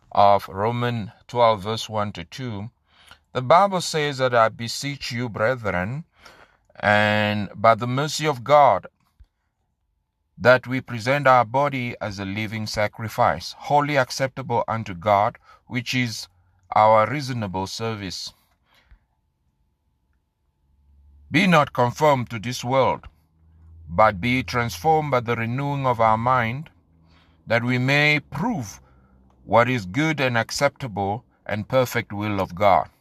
of Romans 12 verse 1 to 2, the Bible says that I beseech you, brethren, and by the mercy of God, that we present our body as a living sacrifice, wholly acceptable unto God, which is our reasonable service. Be not conformed to this world, but be transformed by the renewing of our mind, that we may prove what is good and acceptable and perfect will of God.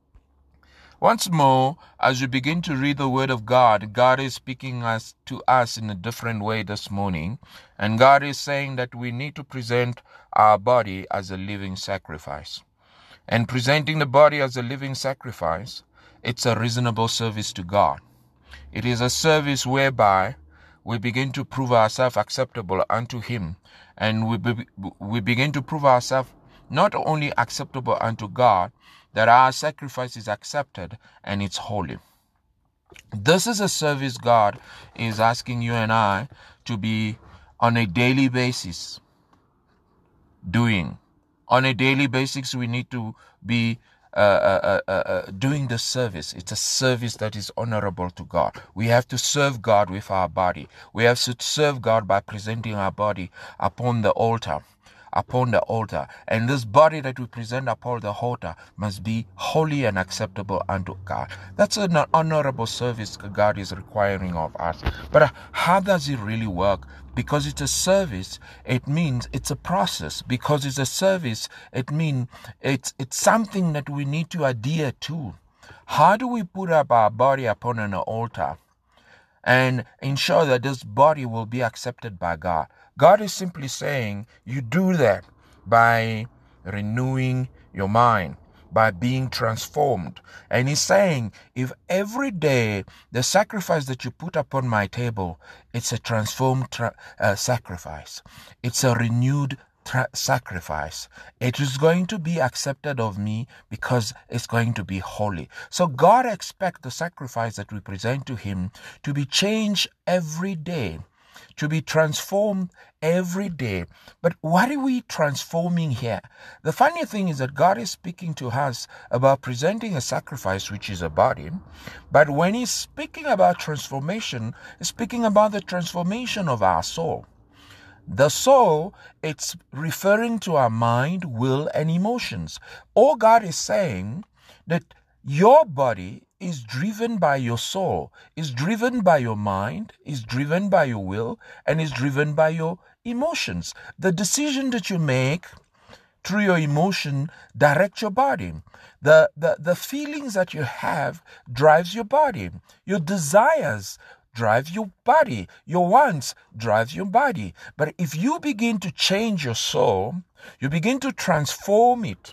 Once more, as you begin to read the Word of God, God is speaking to us in a different way this morning. And God is saying that we need to present our body as a living sacrifice. And presenting the body as a living sacrifice, it's a reasonable service to God. It is a service whereby we begin to prove ourselves acceptable unto Him. And we begin to prove ourselves not only acceptable unto God, that our sacrifice is accepted and it's holy. This is a service God is asking you and I to be on a daily basis doing. On a daily basis, we need to be doing the service. It's a service that is honorable to God. We have to serve God with our body. We have to serve God by presenting our body upon the altar. And this body that we present upon the altar must be holy and acceptable unto God. That's an honorable service God is requiring of us. But how does it really work? Because it's a service, it means it's a process. Because it's a service, it means it's something that we need to adhere to. How do we put up our body upon an altar and ensure that this body will be accepted by God? God is simply saying you do that by renewing your mind, by being transformed. And He's saying, if every day the sacrifice that you put upon my table, it's a transformed sacrifice, it's a renewed sacrifice, it is going to be accepted of me because it's going to be holy. So God expects the sacrifice that we present to Him to be changed every day, to be transformed every day. But what are we transforming here? The funny thing is that God is speaking to us about presenting a sacrifice, which is a body. But when He's speaking about transformation, He's speaking about the transformation of our soul. The soul, it's referring to our mind, will, and emotions. All God is saying that your body is driven by your soul, is driven by your mind, is driven by your will, and is driven by your emotions. The decision that you make through your emotion direct your body. The feelings that you have drives your body. Your desires drive your body. Your wants drive your body. But if you begin to change your soul, you begin to transform it,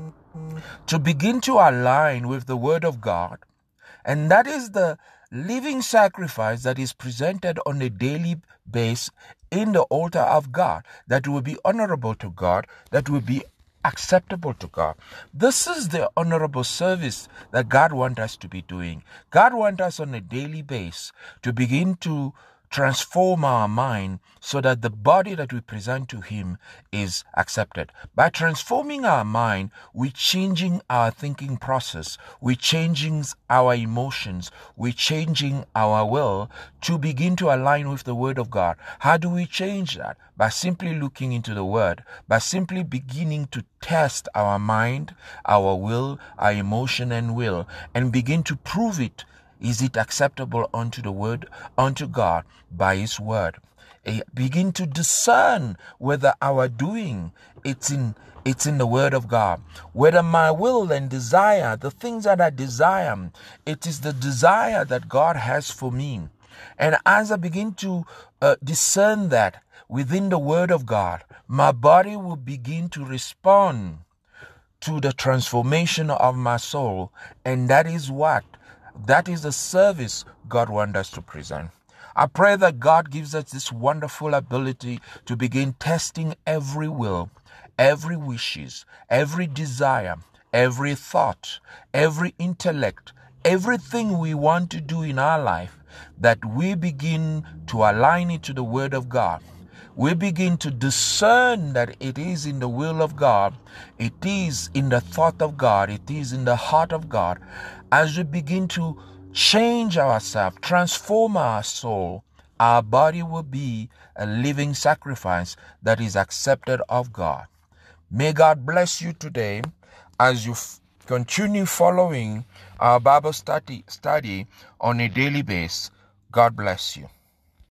to begin to align with the Word of God, and that is the living sacrifice that is presented on a daily basis in the altar of God, that will be honorable to God, that will be acceptable to God. This is the honorable service that God wants us to be doing. God wants us on a daily basis to begin to transform our mind so that the body that we present to Him is accepted. By transforming our mind, we're changing our thinking process, we're changing our emotions, we're changing our will to begin to align with the Word of God. How do we change that? By simply looking into the Word, by simply beginning to test our mind, our will, our emotion and will, and begin to prove it. Is it acceptable unto the Word, unto God, by His Word? Begin to discern whether our doing it's in the Word of God. Whether my will and desire, the things that I desire, it is the desire that God has for me. And as I begin to discern that within the Word of God, my body will begin to respond to the transformation of my soul. And that is the service God wants us to present. I pray that God gives us this wonderful ability to begin testing every will, every wishes, every desire, every thought, every intellect, everything we want to do in our life, that we begin to align it to the Word of God. we begin to discern that it is in the will of God, it is in the thought of God, it is in the heart of God, as we begin to change ourselves, transform our soul, our body will be a living sacrifice that is accepted of God. May God bless you today as you continue following our Bible study on a daily basis. God bless you.